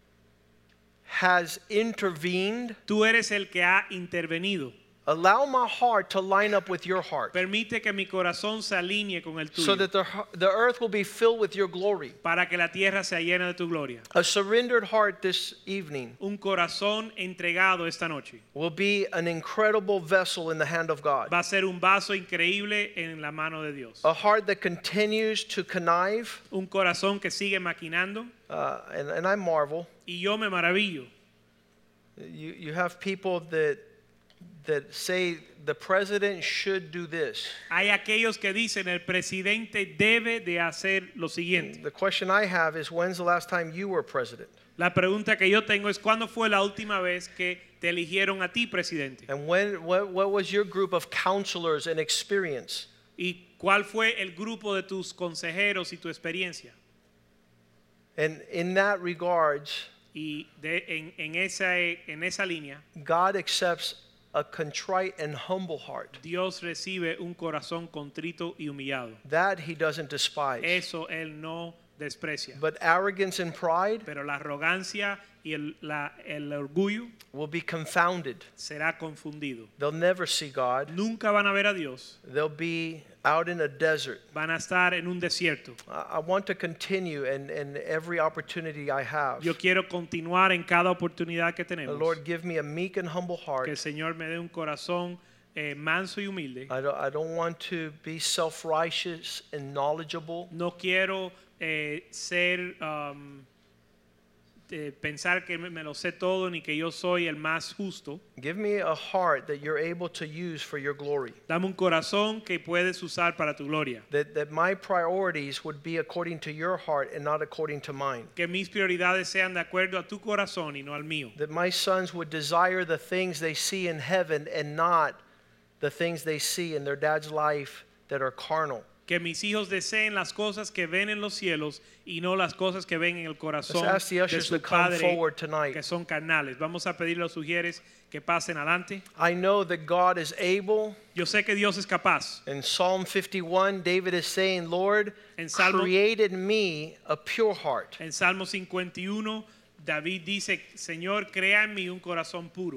has intervened. Tú eres el que ha intervenido. Allow my heart to line up with your heart Permite que mi corazón se alinee con el so tuyo that the, the earth will be filled with your glory. para que la tierra sea llena de tu gloria. A surrendered heart this evening Un corazón entregado esta noche will be an incredible vessel in the hand of God. va a ser un vaso increíble en la mano de Dios. A heart that continues to connive, Un corazón que sigue maquinando uh, and, and I marvel. y yo me maravillo. You, you have people that that say the president should do this. Hay aquellos que dicen el presidente debe de hacer lo siguiente. The question I have is, when's the last time you were president? La pregunta que yo tengo es ¿cuándo fue la última vez que te eligieron a ti presidente? And when what, what was your group of counselors and experience? ¿Y cuál fue el grupo de tus consejeros y tu experiencia? And in that regards, Y de, en, en, esa, en esa línea, God accepts a contrite and humble heart. Dios recibe un corazón contrito y humillado. That he doesn't despise. Eso Él no desprecia. But arrogance and pride Pero la arrogancia y el, la, el orgullo will be confounded. será confundido. They'll never see God. Nunca van a ver a Dios. They'll be out in a desert. Van a estar en un desierto. I I want to continue and, and every opportunity I have. Yo quiero continuar en cada oportunidad que The tenemos. Lord, give me a meek and humble Que heart. el Señor me dé un corazón eh, manso y humilde. I don't, I don't want to be self-righteous and knowledgeable. No quiero eh, ser um, eh, pensar que me, me lo sé todo ni que yo soy el más justo. Give me a heart that you're able to use for your glory. Dame un corazón que puedes usar para tu gloria. That, that my priorities would be according to your heart and not according to mine. Que mis prioridades sean de acuerdo a tu corazón y no al mío. That my sons would desire the things they see in heaven and not the things they see in their dad's life that are carnal. Que mis hijos deseen las cosas que ven en los cielos y no las cosas que ven en el corazón Let's ask the de ushers su to come padre forward tonight. que son carnales. Vamos a pedirle a los sugieres que pasen adelante. I know that God is able. Yo sé que Dios es capaz. In Psalm fifty-one, David is saying, Lord, En Salmo- created me a pure heart. En Salmo cincuenta y uno, David dice, Señor, crea en mí un corazón puro.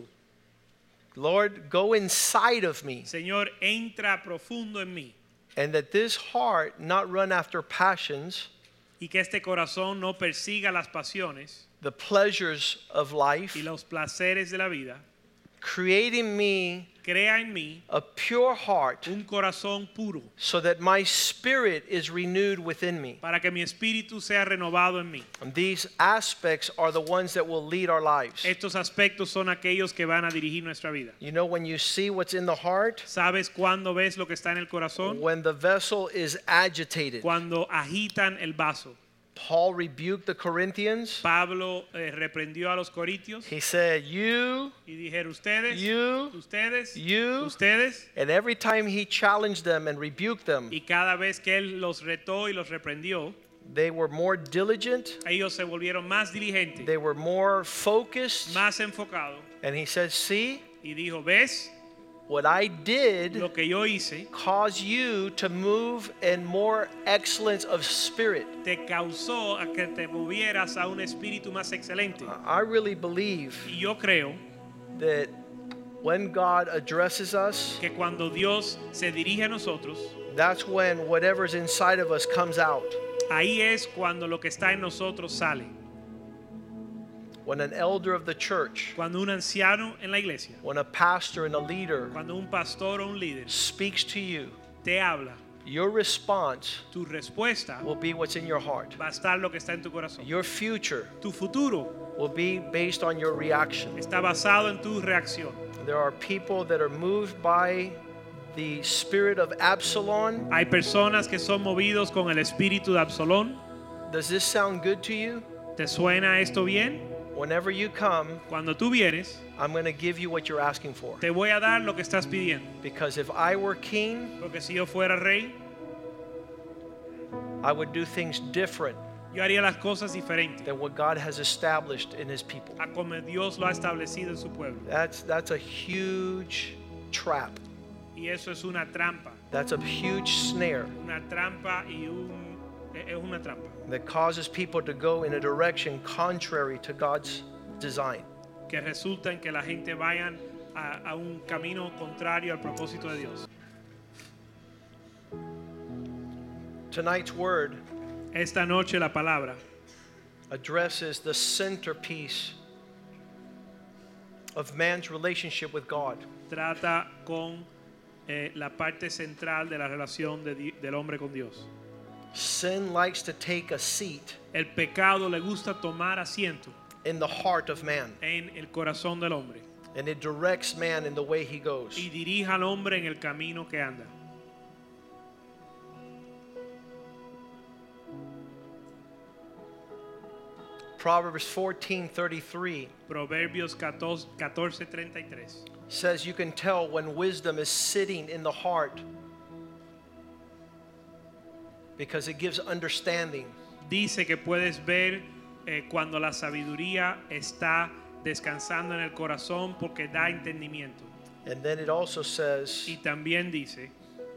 Lord, go inside of me, Señor, entra profundo en mí. and that this heart not run after passions, Y que este corazón no persiga las pasiones the pleasures of life, y los placeres de la vida. creating me Crea en mí a pure heart un corazón puro so that my spirit is renewed within me. para que mi espíritu sea renovado en mí. And these aspects are the ones that will lead our lives. Estos aspectos son aquellos que van a dirigir nuestra vida. You know, when you see what's in the heart, ¿Sabes cuándo ves lo que está en el corazón? when the vessel is agitated, Cuando agitan el vaso. Paul rebuked the Corinthians. Pablo eh, reprendió a los corintios He said, you, y dijeron ustedes, you, ustedes, you. ustedes. And every time he challenged them and rebuked them, Y cada vez que él los retó y los reprendió, they were more diligent, ellos se volvieron más diligentes, they were more focused. más enfocados. And he said, see, Y dijo, ¿ves? what I did Lo que yo hice caused you to move in more excellence of spirit. te causó a que te movieras a un espíritu más excelente. I really believe Y yo creo that when God addresses us, que cuando Dios se dirige a nosotros, that's when whatever's inside of us comes out. ahí es cuando lo que está en nosotros sale. When an elder of the church, Cuando un anciano en la iglesia, when a pastor and a leader cuando un pastor o un líder speaks to you, te habla, your response tu respuesta will be what's in your heart. va a estar lo que está en tu corazón. Your future Tu futuro will be based on your reaction. está basado en tu reacción. There are people that are moved by the spirit of Absalom. Hay personas que son movidos con el espíritu de Absalón. Does this sound good to you? ¿Te suena esto bien? Whenever you come, Cuando tú vienes, I'm going to give you what you're asking for. te voy a dar lo que estás pidiendo. Because if I were king, Porque si yo fuera rey, I would do things different yo haría las cosas diferentes than what God has established in his people. a como Dios lo ha establecido en su pueblo. That's that's a huge trap. Y eso es una trampa. That's a huge snare Una trampa y un... es una trampa that causes people to go in a direction contrary to God's design. que resulta en que la gente vayan a, a un camino contrario al propósito de Dios. Tonight's word Esta noche la palabra addresses the centerpiece of man's relationship with God. trata con eh, la parte central de la relación de Di- del hombre con Dios. Sin likes to take a seat El pecado le gusta tomar asiento in the heart of man, en el corazón del hombre and it directs man in the way he goes. y dirige al hombre en el camino que anda. Proverbs fourteen thirty-three Proverbios catorce treinta y tres says you can tell when wisdom is sitting in the heart because it gives understanding. dice que puedes ver eh, cuando la sabiduría está descansando en el corazón porque da entendimiento. And then it also says Y también dice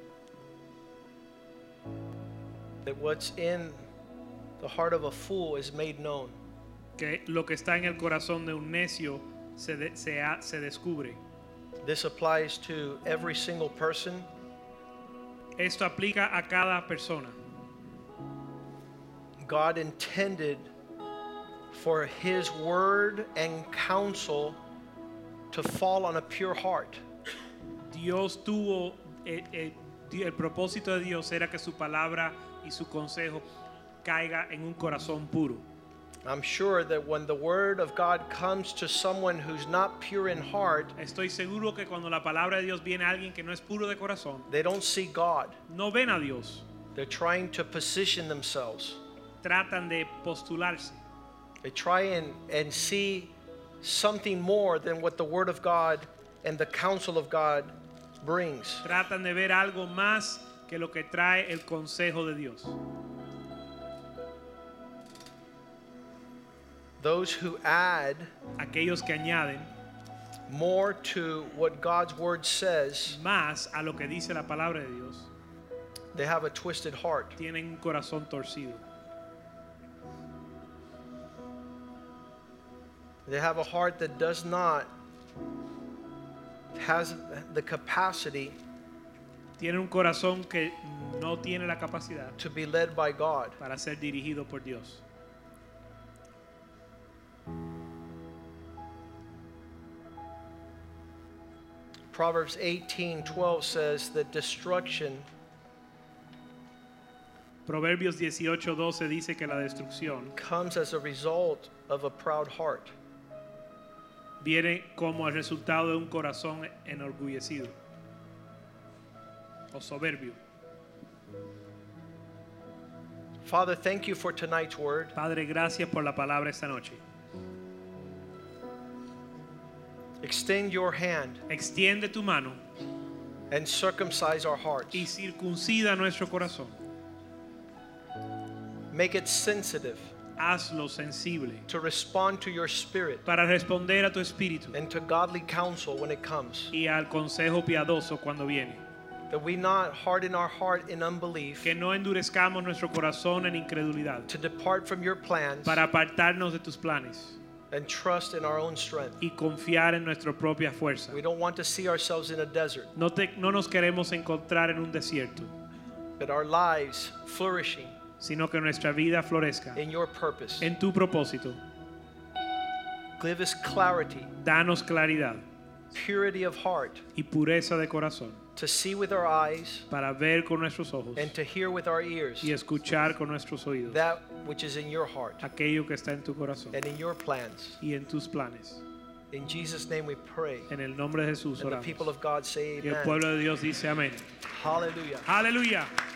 that what's in the heart of a fool is made known. que lo que está en el corazón de un necio se, de- se, ha- se descubre. This applies to every single person. Esto aplica a cada persona. God intended for his word and counsel to fall on a pure heart. Dios tuvo, eh, eh, di- el propósito de Dios era que su palabra y su consejo caiga en un corazón puro. I'm sure that when the word of God comes to someone who's not pure in heart, Estoy seguro que cuando la palabra de Dios viene a alguien que no es puro de corazón, they don't see God. no ven a Dios, They're trying to position themselves. tratan de postularse, They try and, and see something more than what the word of God and the counsel of God brings. tratan de ver algo más que lo que trae el consejo de Dios. Those who add Aquellos que añaden more to what God's word says, más a lo que dice la palabra de Dios, they have a twisted heart. tienen un corazón torcido. They have a heart that does not has the capacity Tienen un corazón que no tiene la capacidad to be led by God. para ser dirigido por Dios. Proverbs eighteen twelve says that destruction Proverbios dieciocho doce dice que la destrucción comes as a result of a proud heart. viene como el resultado de un corazón enorgullecido o soberbio. Father, thank you for tonight's word. Padre, gracias por la palabra esta noche. Extend your hand Extiende tu mano and circumcise our hearts. y circuncida nuestro corazón. Make it sensitive Hazlo sensible to respond to your spirit para responder a tu espíritu and to godly counsel when it comes. y al consejo piadoso cuando viene. That we not harden our heart in unbelief Que no endurezcamos nuestro corazón en incredulidad to depart from your plans para apartarnos de tus planes and trust in our own strength. y confiar en nuestra propia fuerza. We don't want to see ourselves in a desert, No, te, no nos queremos encontrar en un desierto, but our lives flourishing sino que nuestra vida florezca in your purpose. en tu propósito. Give us clarity, Danos claridad purity of heart, y pureza de corazón to see with our eyes para ver con nuestros ojos and to hear with our ears y escuchar con nuestros oídos that which is in your heart aquello que está en tu corazón and in your plans. y en tus planes. In Jesus' name we pray. En el nombre de Jesús And the oramos. people of God say Y el amen. pueblo de Dios dice amén. Hallelujah. Aleluya.